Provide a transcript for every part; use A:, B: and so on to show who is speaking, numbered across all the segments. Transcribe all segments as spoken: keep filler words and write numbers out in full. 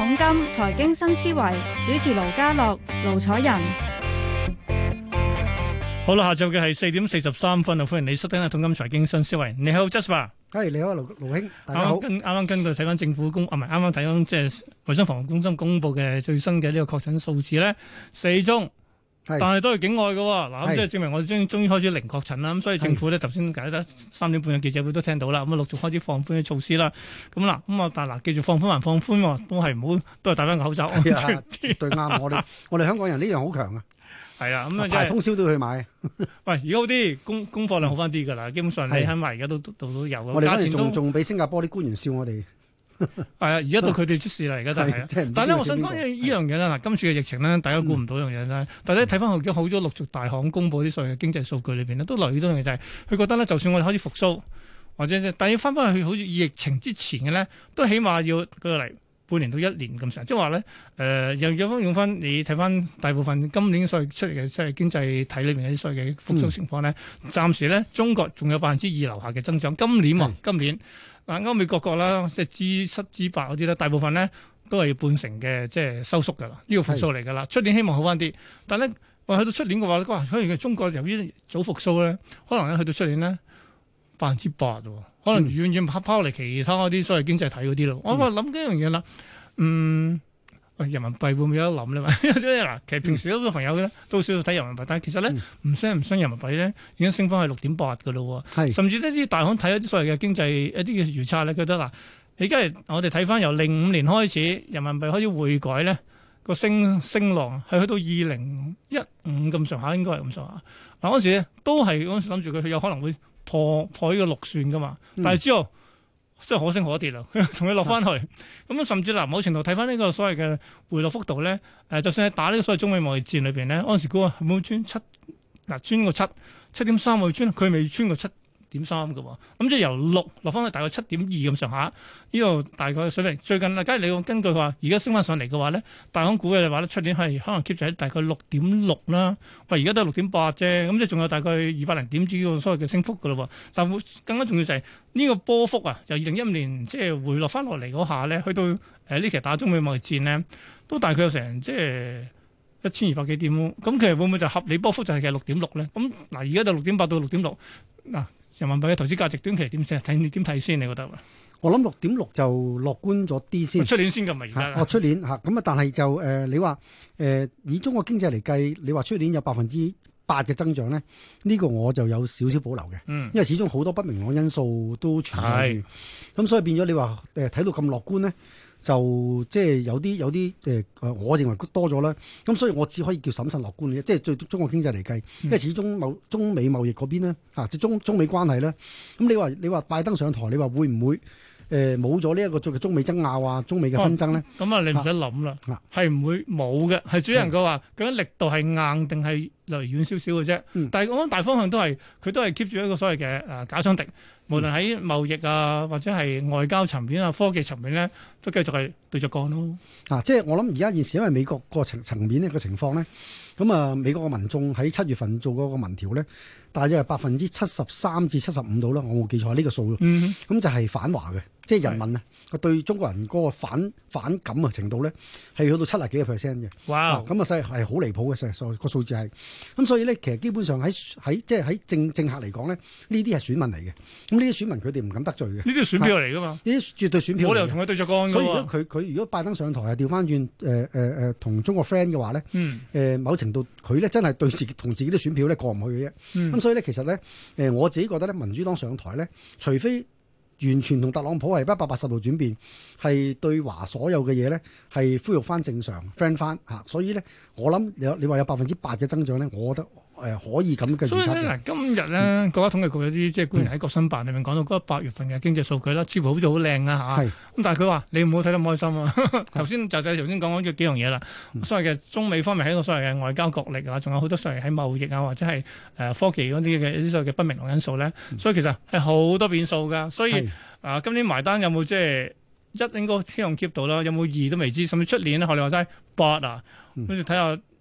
A: 桶金財經新思維，主持盧家樂、盧楚仁。
B: 好啦，下晝嘅係四點四十三分啊！歡迎你收聽《一桶金財經新思維》。你好 Jasper。
C: 係你好，盧盧兄，大家好。
B: 啱啱根據睇翻政府公啊，唔係啱啱睇翻即係衞生防護中心公布嘅最新嘅呢個確診數字咧，四宗，但係都係境外嘅喎。嗱，咁即係證明我哋終終於開始零確診啦。咁所以政府咧頭先解得三點半嘅記者會都聽到啦。咁啊陸續開始放寬嘅措施啦。咁嗱，咁啊但係嗱，記住放寬還放寬喎，都係唔好都係戴翻個口罩。
C: 係啊，絕對啱。我哋我哋香港人呢樣好強啊。
B: 係啊，咁啊，
C: 排通宵都要去買。
B: 喂，而家好啲，供供貨量好翻啲㗎啦。基本上你喺埋而家都度都有。
C: 我哋嗰陣仲仲俾新加坡啲官員笑我哋。
B: 係啊，而家到佢哋出事啦，而家都係。但係咧，我想講呢樣嘢咧，嗱，今次嘅疫情咧，大家估唔到一樣嘢咧。但係咧，睇翻好多好多陸續大行公佈啲所謂嘅經濟數據裏邊咧，都留意到一樣嘢就係，佢覺得咧，就算我哋開始復甦，或者但係要翻返去好似疫情之前嘅咧，都起碼要舉個例。半年到一年咁長，即係話咧，誒、呃、又有翻用翻你睇翻大部分今年所謂出嚟嘅即係經濟體裏面嘅啲所謂嘅復甦情況咧，嗯、暫時咧中國仲有百分之二樓下嘅增長。今年喎，嗯、今年嗱歐美各國啦，即係 G 七 G 八嗰啲咧，大部分咧都係要半成嘅即係收縮㗎啦，呢、這個復甦嚟㗎啦。出年希望好翻啲，但係咧話去到出年嘅話，哇！可能中國由於早復甦咧，可能咧去到出年咧百分之八喎。可能遠遠拋拋嚟其他嗰啲所謂經濟體嗰啲咯，我話諗緊一樣嘢啦，嗯，喂，人民幣會唔會有得諗咧？嗱，其實平時好多朋友咧都少少睇人民幣，但係其實咧唔升唔升人民幣咧已經升翻去六點八㗎咯喎，甚至呢啲大行睇一啲所謂嘅經濟一啲嘅預測咧，覺得嗱，你而家我哋睇翻由零五年開始人民幣開始匯改咧個升升浪係去到二零一五咁上下，應該係咁上下。嗱嗰時咧都係嗰陣時諗住佢有可能會。破破呢個六算噶嘛，但係之後真係可升可跌啦，同佢落翻去，咁、嗯、甚至嗱某程度睇翻呢個所謂嘅回落幅度咧，誒、呃、就算係打呢個所謂中美貿易戰裏邊咧，嗰陣時估啊冇穿七，嗱穿個七七點三會穿，佢未穿過七點三嘅喎，咁即係由六落翻去大概七點二咁上下，呢個大概水平。最近啊，假如你根據話而家升翻上嚟嘅話咧，大行估嘅話咧，出年係可能 keep 住喺大概六點六啦。喂，而家都係六點八啫，咁即係仲有大概二百零點子呢個所謂嘅升幅嘅咯喎。但會更加重要就係呢個波幅啊，由二零一五年即係回落翻落嚟嗰下咧，去到誒呢期打中美貿易戰咧，都大概有成即係一千二百幾點咯。咁其實會唔會就合理波幅就係其實六點六咧？咁嗱，而家就六點八到六點六嗱。人民幣嘅投資價值短期點睇？睇你點睇先？你覺得？
C: 我諗六點六就樂觀咗啲先。
B: 出年先㗎嘛？而家
C: 哦，出年嚇咁啊！但係就誒、呃，你話誒、呃、以中國經濟嚟計，你話出年有百分之八嘅增長咧，呢、這個我就有少少保留嘅。嗯，因為始終好多不明朗因素都存在住，咁是所以變咗你話誒睇到咁樂觀咧。就即係有啲有啲誒、呃，我認為多咗啦。咁所以我只可以叫審慎樂觀嘅，即係對中國經濟嚟計，嗯、因為始終貿中美貿易嗰邊咧嚇，即係中中美關係咧。咁你話你話拜登上台，你話會唔會誒冇咗呢一個中中美爭拗啊，中美嘅紛爭咧？咁啊、哦，你唔使諗啦，係唔會冇嘅，係主要人佢話究竟力度係硬定係離遠少少嘅啫。嗯、但係我諗大方向都係佢都係 keep 住一個所謂嘅誒假想敵。無論喺貿易啊，或者係外交層面啊、科技層面咧，都繼續係對着幹咯。啊， 即係我諗而家現時因為美國個層層面呢個情況咧，咁啊美國嘅民眾喺七月份做嗰個民調咧，大約係百分之七十三至七十五度啦，我冇記錯呢個數。嗯哼，咁就係反華嘅，即係人民啊，佢是對中國人嗰個反反感啊程度咧，係去到七十幾個 percent 嘅。哇！咁啊，細係好離譜嘅，實數個數字係。咁所以咧，其實基本上喺喺即係喺政政客嚟講咧，呢啲係選民嚟嘅。咁呢啲選民佢哋唔敢得罪嘅。呢
B: 啲選票嚟噶嘛？
C: 呢啲絕對選票。冇理由
B: 同佢對着幹。
C: 所以如果佢佢如果拜登上台啊，調翻轉誒誒誒同中國 friend 嘅話咧，誒、嗯呃、某程度佢咧真係對自己同自己啲選票咧過唔去嘅啫。咁、嗯、所以咧，其實咧，誒、呃、我自己覺得咧，民主黨上台咧，除非完全同特朗普係一百八十度轉變，係對華所有嘅嘢咧係恢復翻正常 friend 翻嚇。所以咧，我諗你你話有百分之八嘅增長咧，我覺得。誒、呃、可以咁嘅預測。所以咧嗱，今日咧、嗯、國家統計局有啲即係官員喺國新辦裏面講到嗰八月份嘅經濟數據啦，似乎好似好靚啊嚇。咁是但係佢話你唔好睇得咁開心啊。頭先就就頭先講講咗幾樣嘢啦。嗯、所謂嘅中美方面喺個所謂嘅外交角力啊，仲有好多所謂喺貿易啊或者係誒科技嗰啲嘅啲所謂嘅不明朗因素咧。嗯、所以其實係好多變數㗎。所以是啊，今年埋單有冇即係一應該希望 keep 到啦？有冇二都未知，甚至出年咧學你話齋八啊，跟住睇下。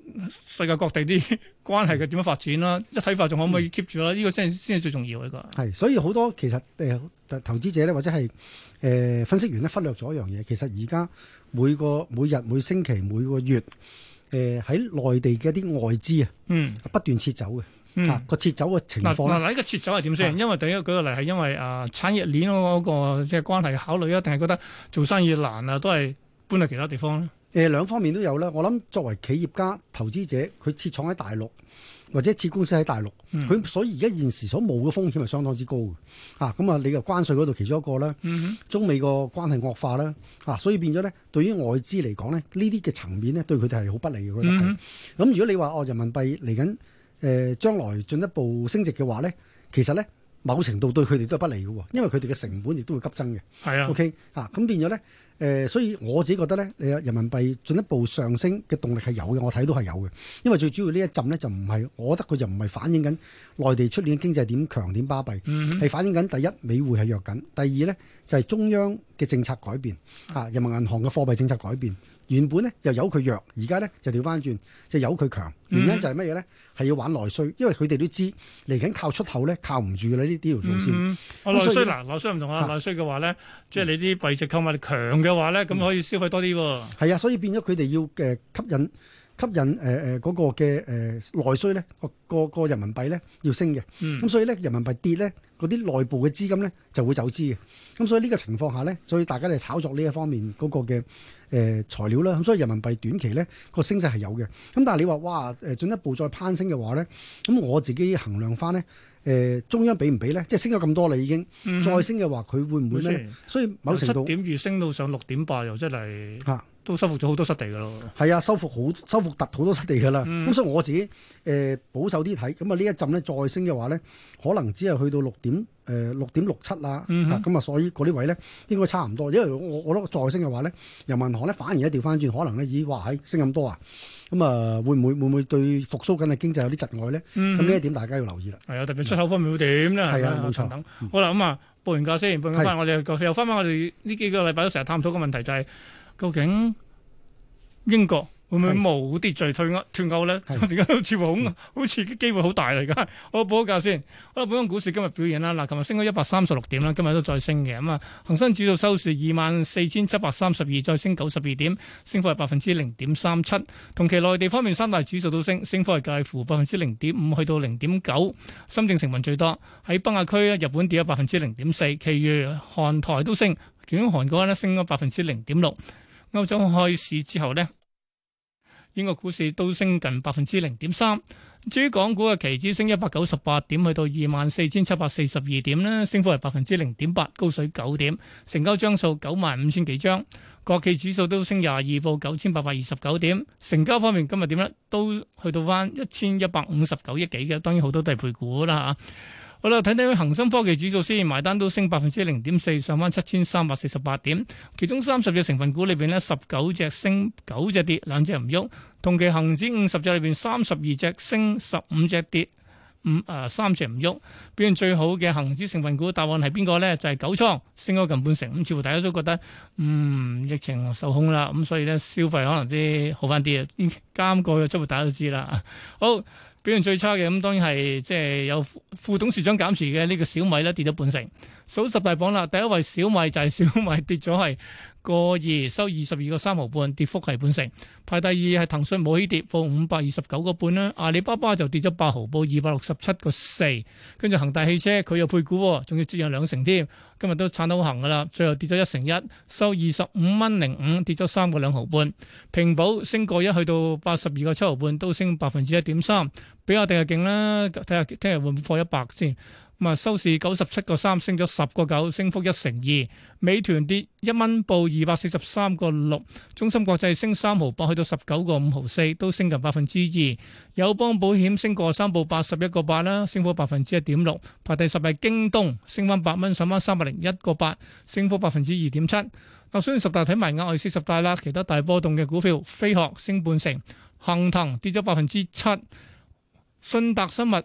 B: 世界各地啲關係嘅點樣發展啦，一體化仲可唔可以 keep 住啦？呢、嗯、個先先係最重要嘅一個。
C: 係，所以好多其實誒、呃、投資者咧，或者係誒、呃、分析員咧，忽略咗一樣嘢。其實而家每個每日每星期每個月誒喺內地嘅一啲外資啊，嗯，不斷撤走嘅。嗯、啊，個撤走嘅情況嗱
B: 嗱，呢個撤走係點先？啊、因為第一舉個例係因為啊產業鏈嗰個即係關係考慮啊，定係覺得做生意難啊，都係搬去其他地方咧？
C: 誒、呃、兩方面都有啦。我諗作為企業家、投資者，佢設廠喺大陸或者設公司喺大陸，佢、嗯、所以而家現時所冒嘅風險係相當之高嘅。啊，咁啊，你嘅關稅嗰度其中一個啦，嗯、哼中美個關係惡化啦，啊，所以變咗咧，對於外資嚟講咧，呢啲嘅層面咧，對佢哋係好不利嘅。我覺得係。咁、嗯、哼如果你話哦，人民幣嚟緊誒將來進一步升值嘅話咧，其實咧某程度對佢哋都係不利嘅，因為佢哋嘅成本亦都會急增嘅。係啊，OK 啊，咁變咗咧。誒、呃，所以我自己覺得咧，誒人民幣進一步上升嘅動力係有嘅，我睇到係有嘅。因為最主要呢一陣咧就唔係，我覺得佢就唔係反映緊內地出年嘅經濟點強點巴閉，係、嗯、哼反映緊第一美匯係弱緊，第二咧就係、是、中央嘅政策改變，啊人民銀行嘅貨幣政策改變。原本咧就由佢弱，而家咧就調翻轉，就由佢強。原因就係乜嘢咧？係要玩內需，因為佢哋都知嚟緊靠出口咧靠唔住嘅啦，呢呢條路線。
B: 我內需嗱，內需唔同啊，內需嘅話咧，即係你啲幣值購買力強嘅話咧，咁、嗯、可以消費多啲喎。係啊，
C: 所以變咗佢哋要誒吸引。吸引誒誒嗰個嘅誒、呃、內需咧，個個個人民幣咧要升嘅，咁、嗯、所以咧人民幣跌咧，嗰啲內部嘅資金咧就會走資嘅，咁所以呢個情況下咧，所以大家嚟炒作呢一方面嗰個嘅誒、呃、材料啦，咁所以人民幣短期咧個升勢係有嘅，咁但係你話哇誒進一步再攀升嘅話咧，咁我自己衡量翻咧誒中央俾唔俾咧，即係升咗咁多啦已經，嗯、再升嘅話佢會唔會咧？嗯、所以某程度
B: 七點二升到上六點八又真係嚇。都收復咗好多失地噶咯，
C: 係啊，收復好收復突好多失地噶啦。咁、嗯、所以我自己誒、呃、保守啲睇，咁啊呢一陣咧再升嘅話咧，可能只係去到六點誒六點六七啦。咁啊，所以嗰啲位咧應該差唔多。因為我我覺得再升嘅話咧，人民銀行咧反而咧調翻轉，可能咧咦哇喺升咁多啊，咁啊會唔會會唔會對復甦緊嘅經濟有啲窒礙咧？咁呢一點大家要留意啦。係啊，特別出口方面會點咧？係啊，冇錯。等好啦，咁啊報完價先，報完翻我哋又翻翻我哋呢幾個禮拜都成日探討個問題就係、是。究竟英國會唔會無秩序退歐脫歐咧？而家都似乎好好似機會好大嚟㗎。我報個價先。好啦，本港股市今日表現啦，嗱，琴日升咗一百三十六點啦，今日都再升嘅。咁啊，恒生指數收市二萬四千七百三十二，再升九十二點，升幅係百分之零點三七。同期內地方面三大指數都升，升幅係介乎百分之零點五去到零點九。深證成分最多，喺北亞區日本跌咗百分之零點四，其餘韓台都升，其中韓國咧升咗百分之零點六。歐洲開市之後呢，英國股市都升近百分之零點三。至於港股嘅期指升一百九十八點，去到二萬四千七百四十二點呢，升幅係百分之零點八，高水九點，成交張數九萬五千幾張。國企指數都升廿二，報九千八百二十九點。成交方面今日點呢？都去到翻一千一百五十九億幾嘅，當然好多都係配股啦嚇。好啦，睇睇恒生科技指數先，埋單都升百分之零點四，上翻七千三百四十八點。其中三十隻成分股裏邊呢，十九隻升，九隻跌，兩隻唔喐。同期恒指五十隻裏邊，三十二隻升，十五隻跌，五啊三隻唔喐。表現最好嘅恒指成分股答案係邊個呢？就係、是、九倉，升咗近半成。咁似乎大家都覺得，嗯，疫情受控啦，咁所以呢，消費可能啲好翻啲啊。監過嘅，即係大家都知啦。好。表現最差嘅咁當然係即係有副董事長減持嘅呢個小米咧，跌咗半成。數十大榜啦，第一位小米就係小米跌咗係個二，收二十二個三毫半，跌幅係半成。排第二係騰訊冇起跌，報五百二十九個半啦。阿里巴巴就跌咗八毫，報二百六十七個四。跟住恒大汽車佢又配股，仲要折讓兩成添。今日都撐得好行噶啦，最後跌咗一成一，收二十五蚊零五，跌咗三個兩毫半。平保升過一，去到八十二個七毫半，都升百分之一點三。比亞迪係勁啦，睇下聽日會唔會破一百先。咁啊，收市九十七個三，升咗十個九，升幅一成二。美團跌一蚊，報二百四十三個六。中芯國際升三毫八，去到十九個五毫四，都升近百分之二。友邦保險升過三，報八十一個八啦，升幅百分之一點六。排第十係京東，升翻八蚊，上翻三百零一個八，升幅百分之二點七。嗱，雖然十大睇埋額外四十大啦，其他大波動嘅股票，飛鶴升半成，恒騰跌咗百分之七，信達生物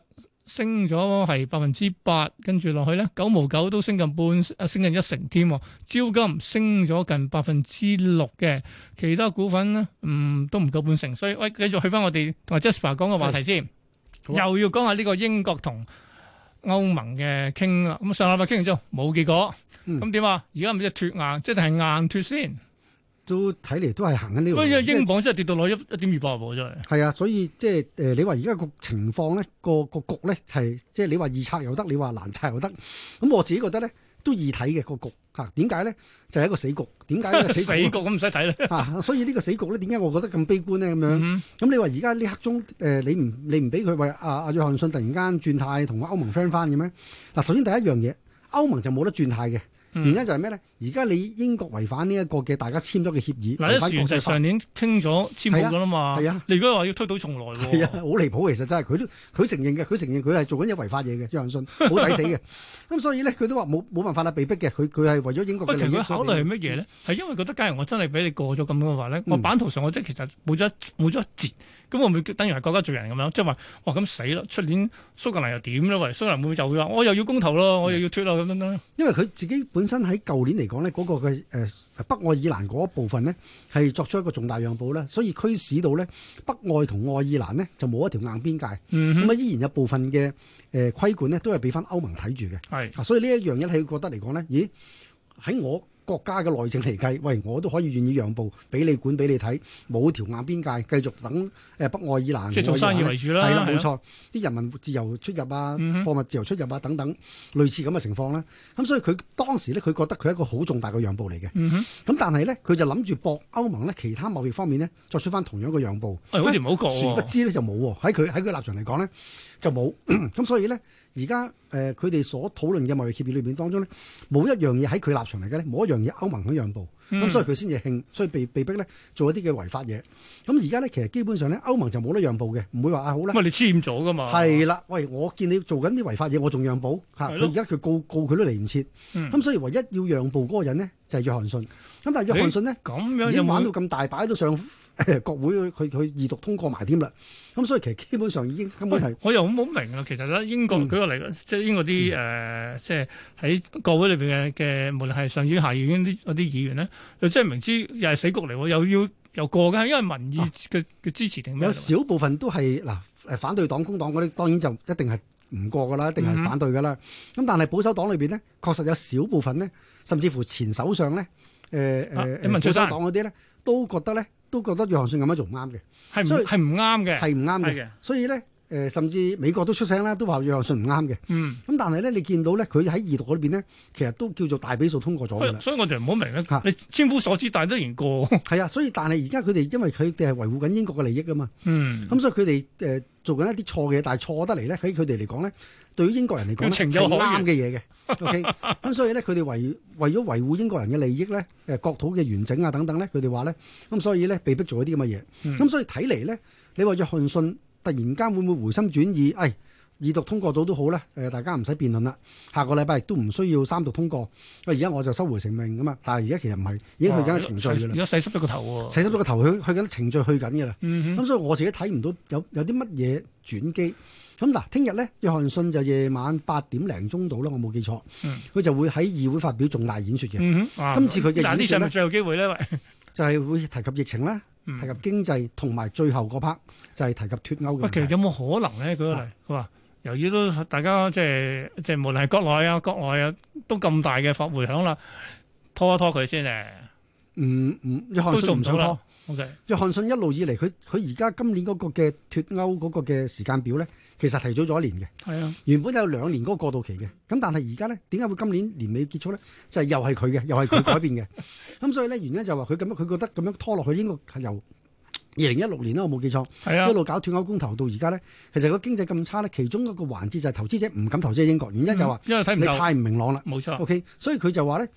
B: 升咗係百分之八，跟住落去咧九毛九都升近半，啊升近一成添。招金升咗近百分之六嘅，其他股份咧，嗯都唔夠半成。所以喂，繼續去翻我哋同阿 Jasper 講嘅話題先，又要講下呢個英國同歐盟嘅傾啦。咁上禮拜傾完之後冇結果，咁點啊？而家唔知脫硬，即係硬脫先。都
C: 睇嚟都係行緊呢個。
B: 不過英鎊真係跌到落一一點二八喎，真係。
C: 係啊，所以即係誒，你話而家個情況咧，個個局咧係即係你話易拆又得，你話難拆又得。咁我自己覺得咧都易睇嘅個局嚇。點解咧？就係、是、一個死局。點解呢個死局？死局咁唔使睇咧。啊，所以呢個死局咧，點解我覺得咁悲觀咧？咁樣。咁、嗯、你話而家呢刻中誒、呃，你唔你唔俾佢為阿阿約翰遜突然間轉態同歐盟 friend 翻嘅咩？嗱，首先第一樣嘢，歐盟就冇得轉態嘅。原因就係咩咧？而家你英國違反呢一個嘅大家簽咗嘅協議，
B: 嗱，啲船就上年傾咗簽好噶啦嘛。係啊，啊你而家話要推倒重來喎。
C: 係啊，好離譜，其實真係佢都佢承認嘅，佢承認佢係做緊一違法嘢嘅，約翰遜好抵死嘅。咁所以咧，佢都話冇冇辦法啦，被逼嘅。佢佢係為咗英國嘅利益。其實佢考慮係乜嘢咧？係因為覺得假如我真係俾你過咗咁嘅話咧，嗯、我版圖上我即係其實冇咗冇咗一截。咁會唔會等於係國家罪人咁樣？即係話，哇咁死啦！出年蘇格蘭又點咧？喂，蘇格蘭會唔會就會話我又要公投咯，我又要脫啦咁樣咧？因為佢自己本身喺舊年嚟講咧，嗰、那個嘅誒、呃、北愛爾蘭嗰一部分咧，係作出一個重大讓步咧，所以驅使到咧北愛同愛爾蘭呢就冇一條硬邊界，咁啊、嗯、哼依然有部分嘅誒、呃、規管咧都係俾翻歐盟睇住嘅。係是，所以呢一樣嘢係覺得嚟講咧，咦喺我國家嘅內政嚟計，喂，我都可以願意讓步，俾你管，俾你睇，冇條硬邊界，繼續等誒北愛爾蘭，即係做生意為主啦，係啦，冇錯，啲人民自由出入啊，貨物自由出入啊，等等，類似咁嘅情況啦。咁所以佢當時咧，佢覺得佢係一個好重大嘅讓步嚟嘅。咁但係咧，佢就諗住搏歐盟咧，其他貿易方面咧，作出翻同樣嘅讓步。好似唔好過，殊不知咧就冇喎。喺佢喺佢立場嚟講咧，就冇。咁所以咧，而家誒佢哋所討論嘅貿易協議裏邊當中咧，冇一樣嘢喺佢立場嚟嘅咧，冇一樣嘢歐盟肯讓步，咁、嗯、所以佢先至興，所以被被逼咧做一啲嘅違法嘢。咁而家咧其實基本上咧，歐盟就冇得讓步嘅，唔會話啊好啦。喂，你簽咗噶嘛？係啦，喂，我見你做緊啲違法嘢，我仲讓步嚇。佢而家佢告告佢都嚟唔切，咁、嗯、所以唯一要讓步嗰個人呢，就係、是、約翰遜。咁但係約翰遜呢，咁樣已經玩到咁大，擺到上國會去去二讀通過埋添啦。咁所以其實基本上已經根本係，我又好冇明啦。其實咧，英國舉個例，嗯、即係英國啲誒、呃，即係喺國會裏邊嘅嘅，無論係上議院、下議院啲嗰啲議員咧，又真係明知又係死局嚟，又要又過嘅，因為民意嘅嘅支持定咩？有少部分都係嗱誒反對黨、工黨嗰啲，當然就一定係唔過噶啦，一定係反對噶啦。咁、嗯、但係保守黨裏邊呢，確實有少部分呢，甚至乎前首相咧。誒誒，保守黨嗰啲咧都覺得咧，都覺得約翰遜咁樣做唔啱嘅，係所以係唔啱嘅，係唔啱嘅。所以咧，誒、呃、甚至美國都出聲啦，都話約翰遜唔啱嘅。嗯，咁但係咧，你見到咧，佢喺二讀嗰邊咧，其實都叫做大比數通過咗㗎啦。所以我哋唔好明咧，啊、你千夫所指，但係都然過。係啊，所以但係而家佢哋因為佢哋係維護緊英國嘅利益㗎嘛。嗯，咁所以佢哋誒做緊一啲錯嘅嘢，但係錯得嚟咧，喺佢哋嚟講咧。對於英國人嚟講係啱嘅嘢嘅，OK，咁所以咧，佢哋為為咗維護英國人嘅利益咧，誒國土嘅完整啊等等咧，佢哋話咧，咁所以咧被逼做一啲咁嘅嘢，咁、嗯、所以睇嚟咧，你話約翰遜突然間會唔會回心轉意？誒、哎，二讀通過到都好啦，誒大家唔使辯論啦，下個禮拜亦都唔需要三讀通過，喂而家我就收回成命咁啊！但係而家其實唔係，已經去緊程序㗎啦，而家洗濕咗個頭喎，洗濕咗個頭去去緊程序去緊㗎啦，咁、嗯、哼所以我自己睇唔到有有啲乜嘢轉機。咁嗱，聽日咧，約翰遜就夜晚八點零鐘到啦，我冇記錯，佢、嗯、就會喺議會發表重大演説嘅。嗯、今次佢嘅演説咧，最後機會咧，就係會提及疫情啦，嗯、提及經濟，同埋最後嗰 part 就係提及脫歐嘅。其實有冇可能咧？舉個例，佢話、啊、由於都大家即係即係無論係國內啊、國外啊，都咁大嘅發回響啦，拖一拖佢先誒。嗯嗯，約翰遜都做唔到啦。OK，約翰遜一路以嚟，佢佢而家今年嗰個嘅脫歐嗰個嘅時間表咧，其實提早咗一年嘅。係啊，原本有兩年嗰個過渡期嘅，咁但係而家咧，點解會今年年尾結束咧？就係、是、又係佢嘅，又係佢改變嘅。咁所以咧，原因就話佢咁樣，佢覺得咁樣拖落去，應該係由二零一六年啦，我冇記錯。係啊，一路搞脫歐公投到而家咧，其實個經濟咁差咧，其中一個環節就係投資者唔敢投資喺英國，原因就話、嗯、因為睇唔你太唔明朗啦。冇錯。OK，所以佢就話咧。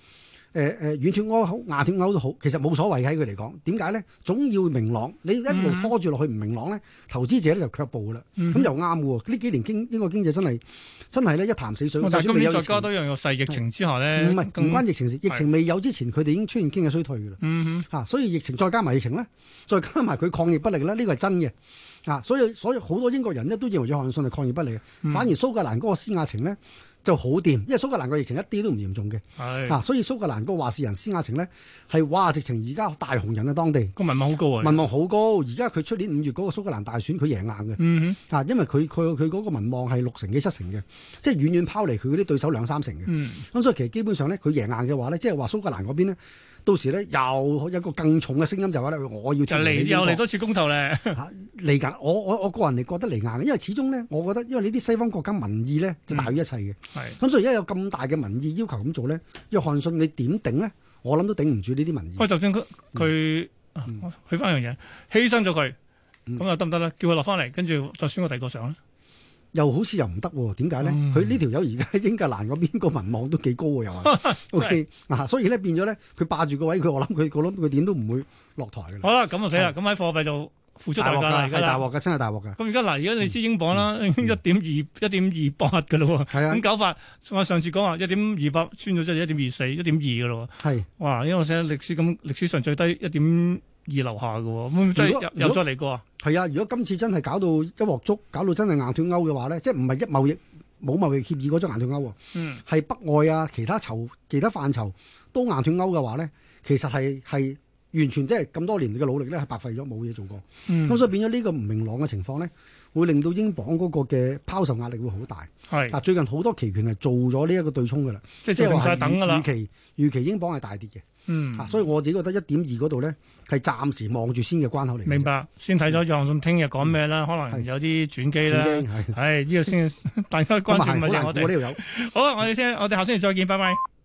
C: 誒誒軟脱歐好硬脱歐都好，其實冇所謂喺佢嚟講。點解咧？總要明朗，你一路拖住落去唔明朗咧，投資者咧就卻步啦。咁、嗯、又啱喎。呢幾年經英國經濟真係真係咧一潭死水。
B: 但係今年再加多一樣細疫情之下咧，
C: 唔係唔關疫情事，疫情未有之前，佢哋已經出現經濟衰退㗎啦。
B: 嗯哼，
C: 嚇、啊，所以疫情再加埋疫情咧，再加埋佢抗疫不力咧，呢個係真嘅。啊，所以所以好多英國人咧都認為約翰遜係抗疫不力嘅，嗯、反而蘇格蘭嗰個施雅晴咧就好掂，因為蘇格蘭個疫情一啲都唔嚴重嘅。係啊，所以蘇格蘭個話事人施雅晴咧係哇，直情而家大紅人啊，當地
B: 個民望好高啊，
C: 民望好高。而家佢出年五月嗰個蘇格蘭大選佢贏硬嘅。嗯哼，啊，因為佢佢佢嗰個民望係六成幾七成嘅，即係遠遠拋離佢嗰啲對手兩三成嘅。嗯，咁所以其實基本上咧，佢贏硬嘅話咧，即係話蘇格蘭嗰邊咧。到時咧又有一個更重嘅聲音就話咧，我要嚟
B: 又嚟多次公投咧
C: 嚟緊。我我我個人嚟覺得嚟硬嘅，因為始終咧，我覺得因為呢啲西方國家民意咧就大於一切嘅。係咁、嗯，所以而家有咁大嘅民意要求咁做咧，約翰遜你點頂咧？我諗都頂唔住呢啲民意。喂，
B: 就算佢佢去翻樣嘢，犧牲咗佢，咁又得唔得咧？叫佢落翻嚟，跟住再選個第二個上咧？
C: 又好似又唔得喎？點解咧？佢呢條友而家喺英格蘭嗰邊個民望都幾高喎，又係 OK 嗱，所以咧變咗咧，佢霸住個位，佢我諗佢我諗佢點都唔會落台嘅。
B: 好啦，咁就死啦！咁喺貨幣就付出代價啦，
C: 係大鑊嘅，真係大鑊嘅。
B: 咁而家嗱，而家你知英鎊啦，一點二一點二八嘅咯喎。係啊，咁搞法我上次講話一點二八穿咗即係一點二四、一點二嘅咯喎。係哇，因為我寫歷史咁歷史上最低一點二樓下嘅喎，咁即係又再嚟過啊？係
C: 啊，如果今次真係搞到一鑊粥，搞到真係硬脱歐嘅話咧，即係唔係一貿易冇貿易協議嗰種硬脱歐喎？嗯，係北外啊，其他籌其他範疇都硬脱歐嘅話咧，其實係係完全即係咁多年嘅努力咧係白費咗，冇嘢做過。咁、嗯、所以變咗呢個唔明朗嘅情況咧，會令到英鎊嗰個嘅拋售壓力會好大。係嗱，最近好多期權係做咗呢一個對沖嘅啦，即係話係預期預期英鎊係大跌嘅。嗯，啊，所以我自己覺得一點二嗰度咧係暫時望住先嘅關口嚟。
B: 明白，先睇咗約翰遜聽日講咩啦，可能有啲轉機啦。係，係呢個先，大家關注咪就係我哋。好啊，我哋聽，我哋下星期再見，拜拜。